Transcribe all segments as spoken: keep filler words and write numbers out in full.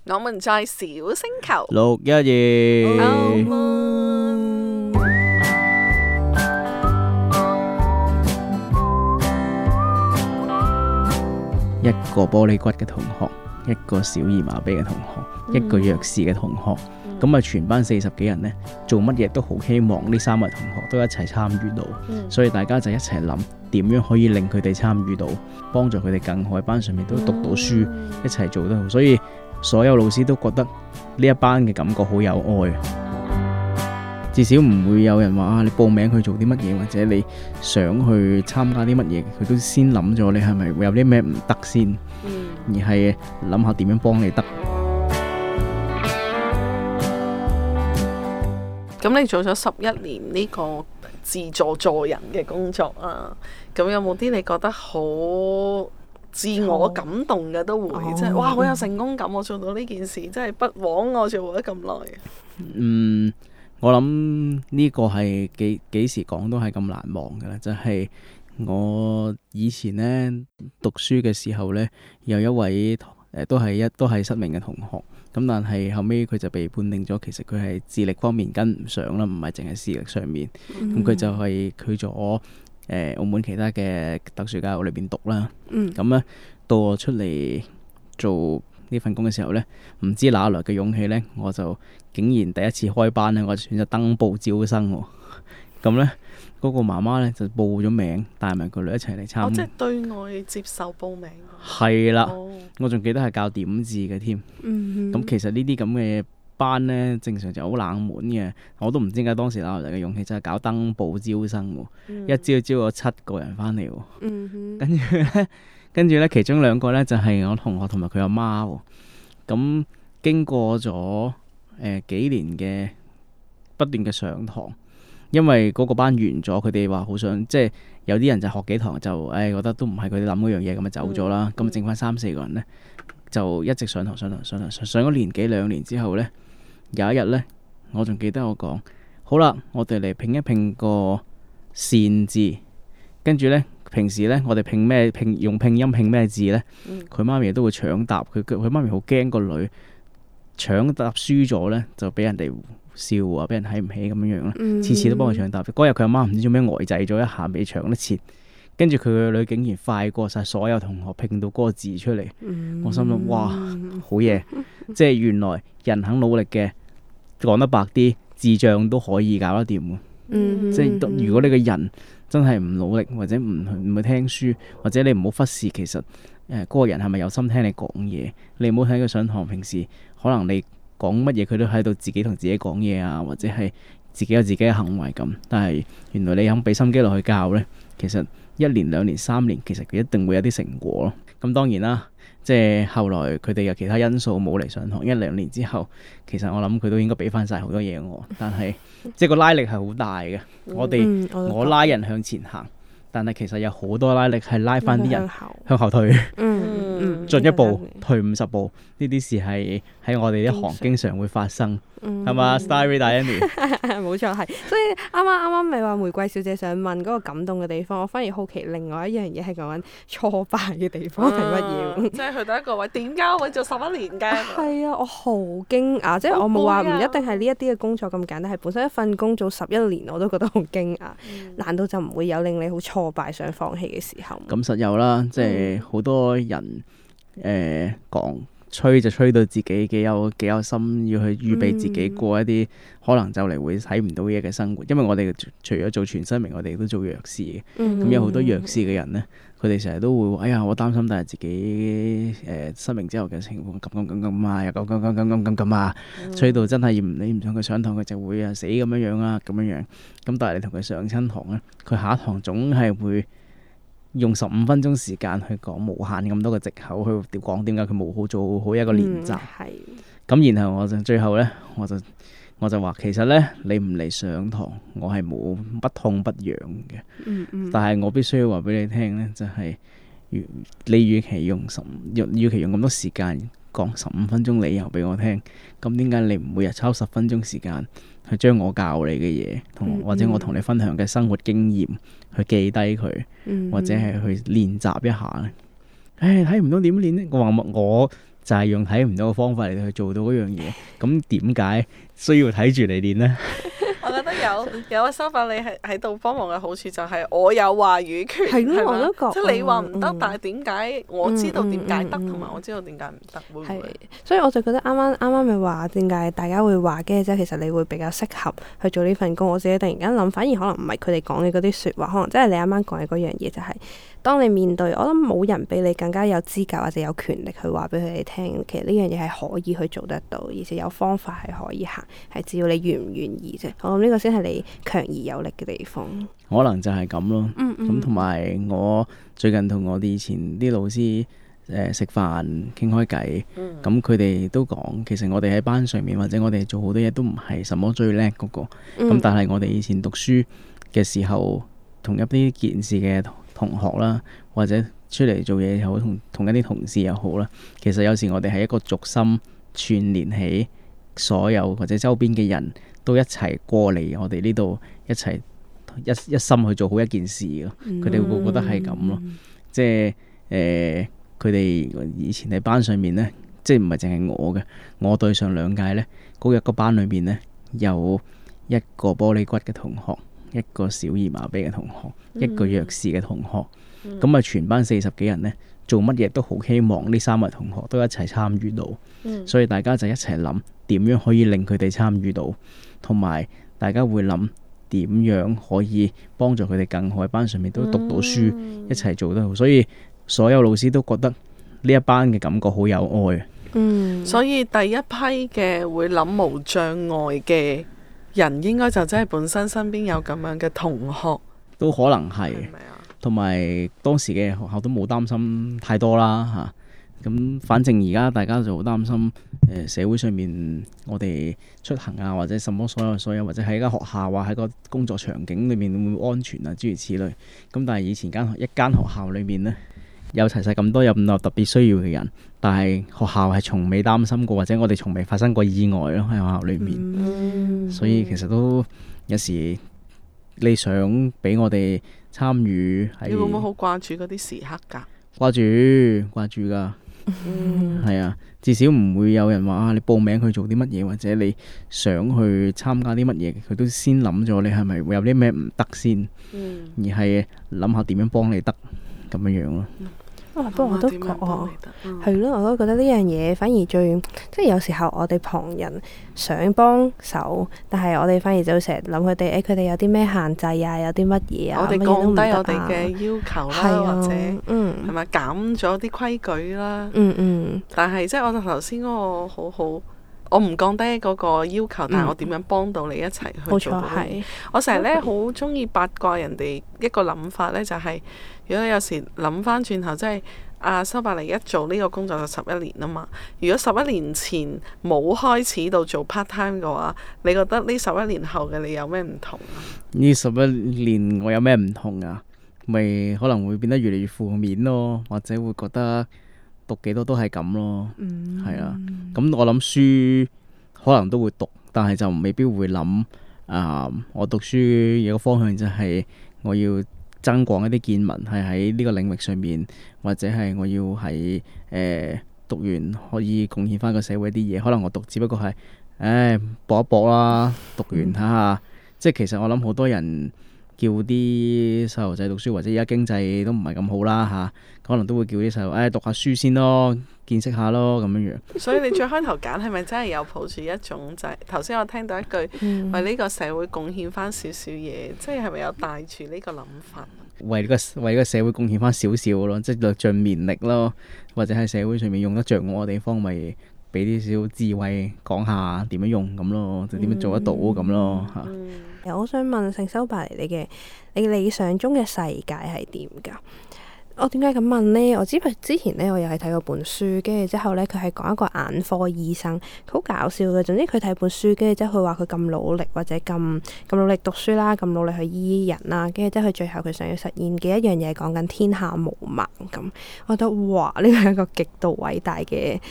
我們在小星球六一二。一個玻璃骨嘅同學，一個小兒麻痹嘅同學，嗯、一個弱視嘅同學，咁啊、嗯、全班四十幾人呢，做乜嘢都好希望呢三位同學都一齊參與到，嗯、所以大家就一齊諗點樣可以令佢哋參與到，幫助佢哋更好喺班上面都讀到書，嗯、一齊做得好，所以所有老師都覺得呢一班嘅感覺好有愛。至少唔會有人話啊，你報名去做啲乜嘢，或者你想去參加啲乜嘢，佢都先諗咗你係咪會有啲咩唔得先，嗯、而係諗下點樣幫你得。 咁你做咗十一年呢個自助助人嘅工作啊，咁有冇啲你覺得好自我感動嘅都會，即係、哦、哇好有成功感，我做到呢件事，真係不枉我做咗咁耐。 嗯。我諗呢個係幾幾時講都係咁難忘㗎啦，就係、是、我以前呢讀書嘅時候呢，有一位誒、呃、都係一都係失明嘅同學，咁但係後尾佢就被判定咗，其實佢係智力方面跟唔上啦，唔係淨係視力上面，咁佢、嗯、就係去咗誒澳門其他嘅特殊教育裏邊讀啦，咁咧、嗯、到我出嚟做呢份工嘅時候呢，唔知哪來嘅勇氣呢，我就竟然第一次開班呢，我就選擇登報招生喎。咁呢，嗰、嗰個媽媽呢就報咗名，帶埋個女一齊嚟參加。哦，即係對外接受報名。係啦，哦、我仲記得係教點字嘅添。咁、嗯、哼其實呢啲咁嘅班呢，正常就好冷門嘅，我都唔知點解當時哪來嘅勇氣，就係搞登報招生喎。嗯、一招招咗七個人翻嚟喎。嗯、哼跟住呢。跟住咧，其中兩個咧就係、是、我同學同埋佢阿媽喎。咁經過咗誒、呃、幾年嘅不斷嘅上堂，因為嗰個班完咗，佢哋話好想即係有啲人就學幾堂就誒、哎、覺得都唔係佢哋諗嗰樣嘢，咁就走咗啦。咁、嗯、剩翻三四個人咧，就一直上堂上堂上堂上咗年幾兩年之後咧，有一日咧，我仲記得我講好啦，我哋嚟拼一拼個善字，跟住咧。平時咧，我哋拼咩拼用拼音拼咩字咧？佢、嗯、媽咪都會搶答，佢佢媽咪好驚個女搶答輸咗咧，就俾人哋笑啊，俾人睇唔起咁樣樣啦。次、嗯、次都幫佢搶答。嗰日佢阿媽唔知做咩呆滯咗一下，未搶得切，跟住佢個女竟然快過晒所有同學拼到嗰個字出嚟。嗯、我心諗哇，好嘢！即係原來人肯努力嘅，講得白啲，智障都可以搞得掂嘅。嗯、即係如果你個人真係唔努力，或者唔唔去聽書，或者你唔好忽視其實誒嗰、呃那個人係咪有心聽你講嘢？你唔好睇佢上堂，平時可能你講乜嘢佢都喺度自己同自己講嘢啊，或者係自己有自己嘅行為咁。但係原來你肯俾心機落去教呢，其實一年兩年三年，其實佢一定會有啲成果咯。咁當然啦，即係後來佢哋有其他因素冇嚟上堂，一兩年之後，其實我諗佢都應該俾翻晒好多嘢我。但係即係個拉力係好大嘅，我哋、嗯、我，我拉人向前行，但係其實有好多拉力係拉翻啲人向後退，嗯、進一步退五十步，呢啲事係喺我哋一行經常會發生。係嘛 Starry Diana 冇錯係，所以啱啱啱啱咪話玫瑰小姐想問嗰個感動嘅地方，我反而好奇另外一樣嘢係講緊挫敗嘅地方係乜嘢？即係去到一個位，點解我會做十一年嘅？係啊，我好驚訝，即係我冇話唔一定係呢一啲嘅工作咁簡單，係本身一份工做十一年我都覺得好驚訝。嗯、難道就唔會有令你好挫敗想放棄嘅時候？ 咁實有啦，即係好多人誒講。吹就吹到自己幾有幾有心，要去預備自己過一啲、嗯、可能就嚟會睇唔到嘢嘅生活。因為我哋除咗做全失明，我哋都做弱視嘅。咁、嗯、有好多弱視嘅人呢，佢哋成日都會話：哎呀，我擔心，但係自己誒、呃、失明之後嘅情況咁咁咁咁啊，又咁咁咁咁咁咁咁啊，吹到真係唔理唔上佢上堂，佢就會啊死咁樣樣啊咁樣樣。咁但係你同佢上親堂呢，佢下一堂總係會用十五分鐘時間去講無限咁多個藉口去講點解佢冇好做好一個練習。咁、嗯、然後我就最後呢，我就我就話其實呢，你唔嚟上堂，我係冇不痛不癢嘅。嗯嗯、但係我必須要話俾你聽呢，就係、是、你與其用十與其用咁多時間講十五分鐘理由俾我聽，咁點解你唔每日抽十分鐘時間去將我教你嘅嘢，同或者我同你分享嘅生活經驗去記低佢，嗯、或者係去練習一下咧？唉，睇唔到點練呢？我話我就係用睇唔到嘅方法嚟去做到嗰樣嘢。咁點解需要睇住嚟練呢？ 我覺得有有個收法，你係喺度幫忙嘅好處就係我有話語權，係咯，我都覺。 即係你話唔得，但係點解我知道點解得，同埋我知道點解唔得，會唔會？ 所以我就覺得啱啱啱啱咪話點解大家會話嘅，即係其實你會比較適合去做呢份工。我自己突然間諗，反而可能唔係佢哋講嘅嗰啲説話，可能即係你啱啱講嘅嗰樣嘢，就係當你面對，我諗冇人比你更加有資格或者有權力去話俾佢哋聽，其實呢樣嘢係可以去做得到，而且有方法係可以行，係只要你願唔願意啫。我諗呢個先係你強而有力嘅地方。 可能就係咁咯。咁同埋我最近同我哋以前啲老師誒食飯傾開偈，咁佢哋都講，其實我哋喺班上面或者我哋做好多嘢都唔係什麼最叻嗰個，咁、嗯、但係我哋以前讀書嘅時候，同一啲件事嘅同學啦，或者出嚟做嘢又好，同同一啲同事又好啦，其實有時我哋係一個軸心串連起所有或者周邊嘅人都一齊過嚟我哋呢度一齊一一心去做好一件事咯。佢哋、嗯、會覺得係咁咯，即係誒佢哋以前喺班上面呢，即係唔係淨係我嘅，我對上兩屆呢，嗰一個班裏面呢，有一個玻璃骨嘅同學，一個小兒麻痹嘅同學，嗯、一個弱視嘅同學，咁啊、嗯、全班四十幾人呢，做乜嘢都好希望呢三位同學都一齊參與到，嗯、所以大家就一齊諗點樣可以令佢哋參與到，同埋大家會諗點樣可以幫助佢哋更好喺班上面都讀到書，嗯、一齊做得好，所以所有老師都覺得呢一班嘅感覺好有愛。 嗯，所以第一批嘅會諗無障礙嘅人應該就真係本身身邊有咁樣嘅同學， 都可能係，同埋當時嘅學校都冇擔心太多啦嚇。咁、啊、反正而家大家就好擔心誒、呃、社會上面我哋出行啊，或者什麼所有所有，或者喺間學校啊，喺個工作場景裏面會唔會安全啊，諸如此類。咁但係以前間一間學校裏面呢，有齊晒咁多有咁多特別需要嘅人，但係學校係從未擔心過，或者我哋從未發生過意外咯喺學校裏面。嗯、所以其實都有時你想俾我哋參與，係你會唔會好掛住嗰啲時刻㗎？ 掛住掛住㗎，嗯，係啊，至少唔會有人話啊，你報名去做啲乜嘢，或者你想去參加啲乜嘢，佢都先諗咗你係咪會有啲咩唔得先，嗯、而係諗下點樣幫你得咁樣樣咯。 啊、不過我都覺啊，係咯、嗯，我都覺得呢樣嘢反而最即係有時候我哋旁人想幫手，但係我哋反而就成日諗佢哋，誒佢哋有啲咩限制啊，有啲乜嘢啊， 我哋降低我哋嘅要求啦， 啊、 或者嗯係咪減咗啲規矩啦？嗯嗯。但係即係我頭先嗰個好好，我唔降低嗰個要求，但係我點樣幫到你一齊去做到？嗯、我成日咧好中意八卦人哋一個諗法咧，就係、是。如果有時諗翻轉頭，即係阿修伯黎一做呢個工作就十一年啊嘛。如果十一年前冇開始到做 part time 嘅話，你覺得呢十一年後嘅你有咩唔同啊？ 呢十一年我有咩唔同啊？咪可能會變得越嚟越負面咯，或者會覺得讀幾多都係咁咯。嗯，係啊。咁我諗書可能都會讀，但係就未必會諗啊、呃。我讀書有個方向就係我要增廣一啲見聞，係喺呢個領域上面，或者係我要喺誒、呃、讀完可以貢獻翻個社會啲嘢。可能我讀只不過係，誒搏一搏啦，讀完睇下。嗯、即係其實我諗好多人叫啲細路仔讀書，或者而家經濟都唔係咁好啦嚇、啊，可能都會叫啲細路誒讀下書先咯，見識下咯咁樣樣。所以你最開頭揀係咪真係有抱住一種就係頭先我聽到一句、嗯、為呢個社會貢獻翻少少嘢，即係係咪有帶住呢個諗法？ 為呢個為呢個社會貢獻翻少少咯，即係略盡綿力咯，或者喺社會上面用得着我嘅地方，咪俾啲少智慧講下點樣用咁咯，就點樣做得到咁咯嚇。 嗯嗯、我想問聖修伯黎，你嘅你理想中嘅世界係點㗎？我點解咁問呢？我知之前呢，我又係睇過本書，跟住之後呢，佢係講一個眼科醫生，佢好搞笑嘅。總之佢睇本書，跟住之後佢話佢咁努力或者咁咁努力讀書啦，咁努力去醫人啦，跟住之後佢最後佢想要實現嘅一樣嘢，講緊天下無盲咁。我覺得哇，呢個係一個極度偉大嘅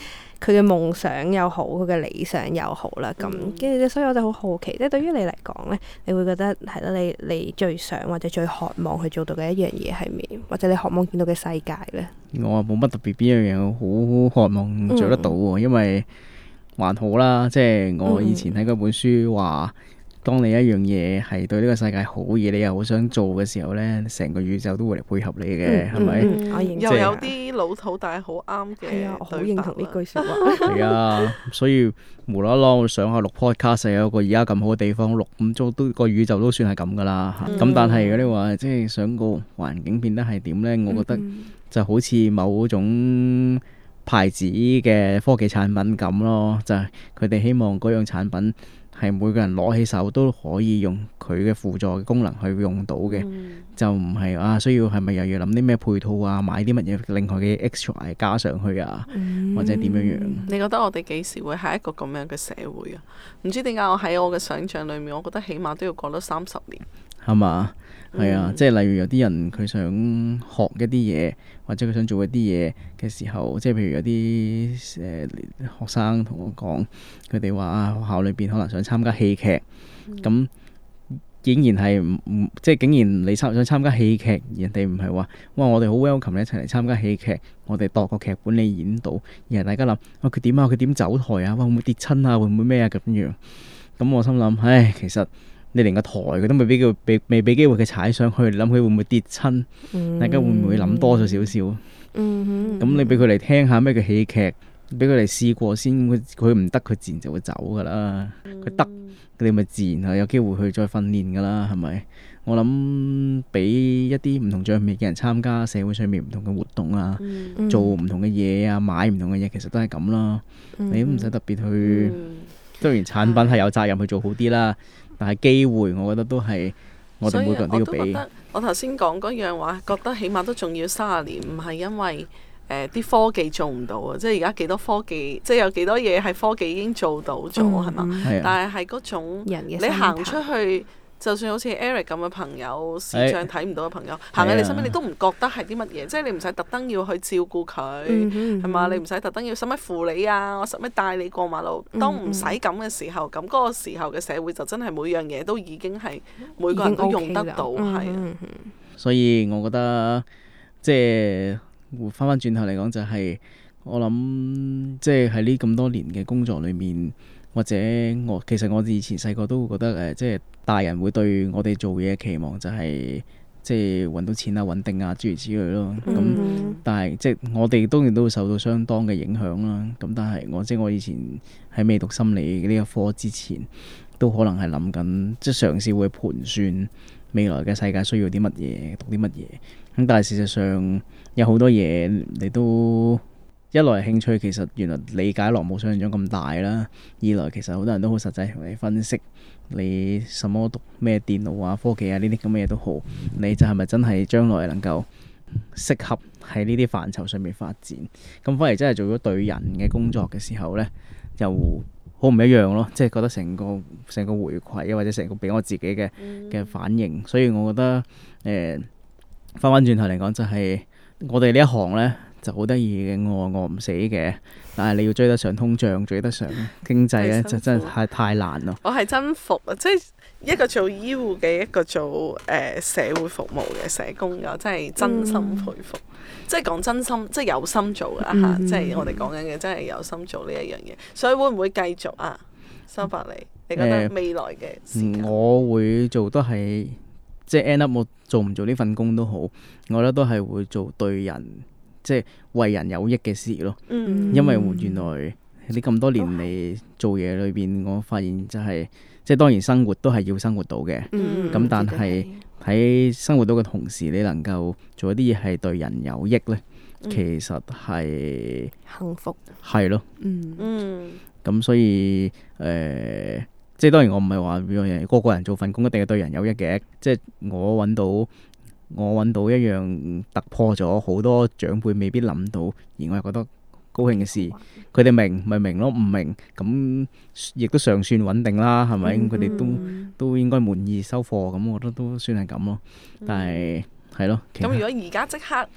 佢嘅夢想又好，佢嘅理想又好啦。咁跟住所以我就好好奇，即係對於你嚟講咧，你會覺得係啦，你你最想或者最渴望去做到嘅一樣嘢係咩？或者你渴望見到嘅世界咧？ 我冇乜特別邊樣嘢好渴望做得到喎，嗯、因為還好啦，即係我以前睇嗰本書話，嗯、當你一樣嘢係對呢個世界好嘢，你又好想做嘅時候咧，成個宇宙都會嚟配合你嘅，係咪？ 又有啲老土，但係好啱嘅。係啊，我好認同呢句説話。係啊，所以無啦啦我上下錄 podcast 有個而家咁好嘅地方錄，咁都都個宇宙都算係咁噶啦。咁、嗯、但係如果你話即係想個環境變得係點咧，我覺得就好似某種牌子嘅科技產品咁咯，就係佢哋希望嗰樣產品係每個人攞起手都可以用佢嘅輔助嘅功能去用到嘅，嗯、就唔係啊需要係咪又要諗啲咩配套啊，買啲乜嘢另外嘅 extra 加上去啊，嗯、或者點樣樣？ 你覺得我哋幾時會係一個咁樣嘅社會啊？唔知點解我喺我嘅想像裏面，我覺得起碼都要過多三十年。係嘛？ 係啊，嗯、即係例如有啲人佢想學一啲嘢，或者佢想做一啲嘢嘅時候，即係譬如有啲誒、呃、學生同我講，佢哋話啊學校裏邊可能想參加戲劇，咁、嗯、竟然係唔唔即係竟然你參想參加戲劇，人哋唔係話哇我哋好 welcome 你一齊嚟參加戲劇，我哋度個劇本你演到，而係大家諗啊佢點啊佢點走台啊，哇會唔會跌親啊，會唔會咩啊咁樣？咁我心諗，唉其實。你連個台佢都未俾佢俾未俾機會佢踩上去，你諗佢會唔會跌親？嗯、大家會唔會諗多咗少少？咁、嗯嗯、你俾佢嚟聽下咩叫戲劇，俾佢嚟試過先。佢唔得，佢自然就會走噶啦。佢得、嗯，你咪自然係有機會去再訓練噶啦，係咪？我諗俾一啲唔同障礙嘅人參加社會上面唔同嘅活動啊，嗯、做唔同嘅嘢啊，買唔同嘅嘢，其實都係咁啦。嗯、你都唔使特別去，當然、嗯、產品係有責任去做好啲啦。但係機會，我覺得都係我哋每個人都要俾。 我我頭先講嗰樣話，覺得起碼都仲要三十年，唔係因為誒啲、呃、科技做唔到啊！即係而家幾多科技，即係有幾多嘢係科技已經做到咗，係嘛？但係係嗰種你行出去。就算好似 Eric 咁嘅朋友，視像睇唔到嘅朋友，行喺你身邊，你都唔覺得係啲乜嘢，即係你唔使特登要去照顧佢，係嘛、嗯？你唔使特登要使乜扶你啊，我使乜帶你過馬路。當唔使咁嘅時候，咁嗰、嗰個時候嘅社會就真係每樣嘢都已經係每個人都用得到，係啊。 所以我覺得即係翻翻轉頭嚟講，就係我諗，即係喺呢咁多年嘅工作裏面。或者我其實我以前細個都會覺得誒、呃，即係大人會對我哋做嘢期望就係、是、即係揾到錢啊、穩定啊諸如此類咯。咁、嗯、但係即係我哋當然都會受到相當嘅影響啦。咁但係我即係我以前喺未讀心理呢一科之前，都可能係諗緊，即係嘗試會盤算未來嘅世界需要啲乜嘢，讀啲乜嘢。咁但係事實上有好多嘢你都。一來興趣其實原來理解落冇想象中咁大啦，二來其實好多人都好實際同你分析你什麼讀咩電腦啊、科技啊呢啲咁嘅嘢都好，你就係咪真係將來能夠適合喺呢啲範疇上面發展？咁反而真係做咗對人嘅工作嘅時候呢，又好唔一樣咯，即係覺得成個成個回饋啊，或者成個俾我自己嘅嘅反應，所以我覺得誒翻返轉頭嚟講就係、是、我哋呢一行呢。就好得意嘅，餓餓唔死嘅，但係你要追得上通脹，追得上經濟咧，就真係太太難咯。 我係真服啊！即係一個做醫護嘅，一個做誒、呃、社會服務嘅社工嘅，真係真心佩服。嗯、即係講真心，即係有心做啊！嚇、嗯，即係我哋講緊嘅，真係有心做呢一樣嘢。所以會唔會繼續啊？收伯利，你覺得未來嘅時間、 呃、我會做都係即係 end up 我做唔做呢份工都好，我覺得都係會做對人。即係為人有益嘅事咯，嗯、因為原來你咁多年嚟做嘢裏邊，我發現就係、是、即係當然生活都係要生活到嘅，咁、嗯、但係喺生活到嘅同時，你能夠做一啲嘢係對人有益咧，嗯、其實係幸福， 係咯， 嗯嗯，咁所以誒、呃，即係當然我唔係話個個人做份工一定係對人有益嘅，即係我揾到。我揾到一樣突破咗好多長輩未必諗到，而我又覺得高興嘅事，佢哋明咪明咯，唔明咁亦都尚算穩定啦，係咪？佢哋、嗯、都都應該滿意收貨，咁我覺得都算係咁咯。但係係咯。咁如果而家即刻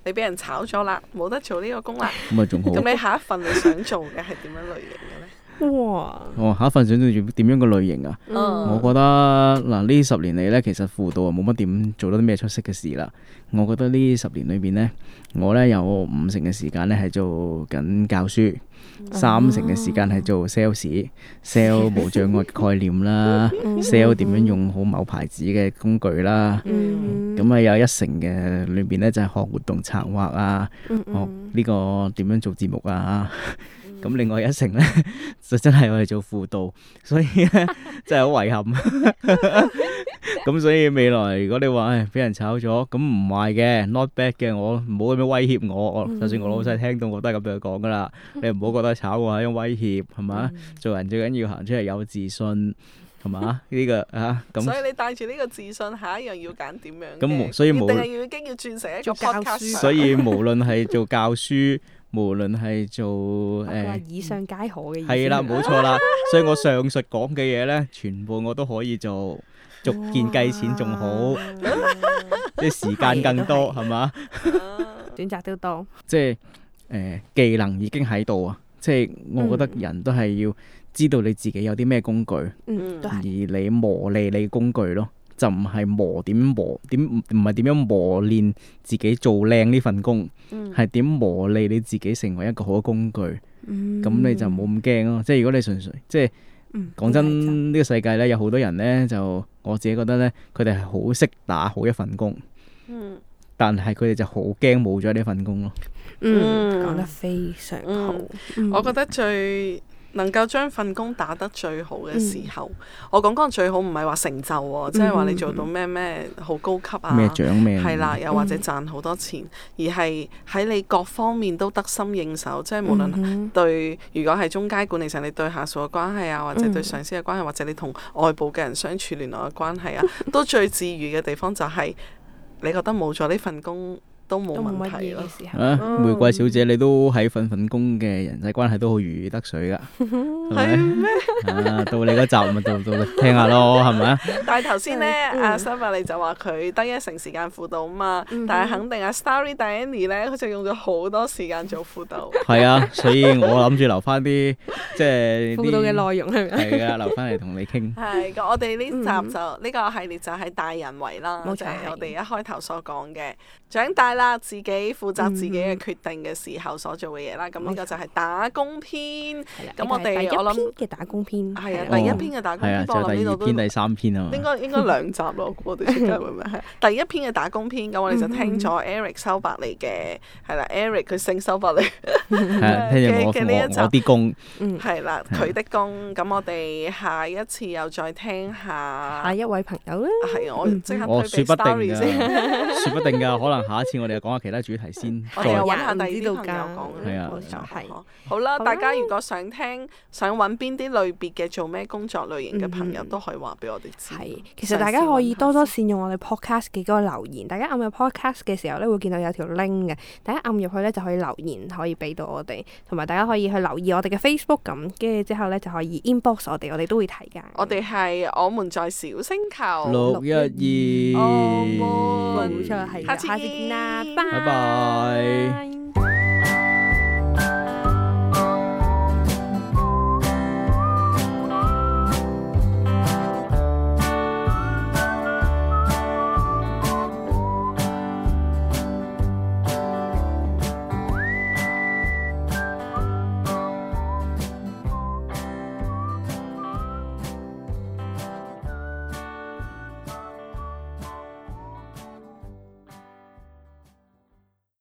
你俾人炒咗啦，冇得做呢個工啦。 咁咪仲好。 咁你下一份你想做嘅係點樣類型嘅咧？ 哇！ 哦，下一份想做點樣嘅類型啊？ 嗯、 我覺得嗱呢十年嚟呢，其實輔導啊冇乜點做到啲咩出色嘅事啦。我覺得呢十年裏邊呢，我呢有五成嘅時間呢係做緊教書，三成嘅時間係做 sales，sell 無障礙概念啦，sell 點樣用好某牌子嘅工具啦。咁啊有一成嘅裏邊呢，就係學活動策劃啊，學呢個點樣做節目啊。咁另外一成呢，就真係我哋做輔導，所以呢，真係好遺憾。咁所以未來如果你話誒俾人炒咗，咁唔壞嘅 ，not bad 嘅，我唔好咁樣威脅我。我就算我老細聽到，我都係咁樣講噶啦。你唔好覺得炒我係一種威脅，係嘛？做人最緊要行出嚟有自信，係嘛？呢個啊咁。所以你帶住呢個自信，下一樣要揀點樣？ 咁所以無定係要已經要轉成一個 podcast。 所以無論係做教書。無論係做誒， 呃、以上皆可嘅意思。 係啦，冇錯啦。所以我上述講嘅嘢呢，全部我都可以做，逐件計錢仲好，即係時間更多，係嘛？ 選擇都多。 即係誒、呃，技能已經喺度啊！即係我覺得人都係要知道你自己有啲咩工具， 嗯、 而你磨利你工具咯。就唔係磨點磨點，唔係點樣磨練自己做靚呢份工，係點、嗯、磨利你自己成為一個好嘅工具。咁、嗯、你就冇咁驚咯。即係如果你純粹即係講、嗯、真，呢、呢個世界呢，有好多人呢，就我自己覺得呢，佢哋係好識打好一份工，嗯、但係佢哋就好驚冇咗呢份工咯。 嗯，講得非常好。嗯嗯、 我覺得最能夠將份工打得最好嘅時候，嗯、我講講最好唔係話成就喎，即係話你做到咩咩好高級啊， 咩獎咩， 係啦，又或者賺好多錢，嗯、而係喺你各方面都得心應手，即係無論對，如果係中階管理層，你對下屬嘅關係啊，或者對上司嘅關係，嗯、或者你同外部嘅人相處聯絡嘅關係啊，都最治癒嘅地方就係你覺得冇咗呢份工都冇問題咯。 啊，玫瑰小姐，你都喺份份工嘅人際關係都好如魚得水噶，係咪？啊，到你嗰集咪到到聽下咯，係咪啊？ 但係頭先咧，阿 Stella 就話佢得一成時間輔導啊嘛，但係肯定阿 Starry Danny 咧，佢就用咗好多時間做輔導。係啊，所以我諗住留翻啲即係輔導嘅內容係咪？ 係啊，留翻嚟同你傾。 係，我哋呢集就呢個系列就係大人為啦，就係我哋一開頭所講嘅長大啦，自己負責自己嘅決定嘅時候所做嘅嘢啦。咁呢個就係打工篇。咁我哋我諗嘅打工篇係啊，第一篇嘅打工篇， 就係第二篇、第三篇啊嘛。 應該應該兩集咯，我哋出街會唔會係第一篇嘅打工篇？咁我哋就聽咗 Eric 收伯利嘅係啦，Eric 佢姓收伯利嘅嘅呢一集。 我啲工係啦，佢的工。咁我哋下一次又再聽下下一位朋友啦。 係我即刻推俾 Starry 先， 説不定㗎，可能下一次我哋又講下其他主題先。 我哋又揾下第二啲朋友講。 係啊， 係。好啦，大家如果想聽、想揾邊啲類別嘅做咩工作類型嘅朋友，都可以話俾我哋知。 係，其實大家可以多多善用我哋 podcast 嘅嗰個留言。大家按入 podcast 嘅時候咧，會見到有條 link 嘅，大家按入去咧就可以留言，可以俾到我哋。同埋大家可以去留意我哋嘅 Facebook 咁，跟住之後咧就可以 inbox 我哋，我哋都會睇㗎。 我哋係我們在小星球六一二， 冇錯係，下次見啦，拜拜。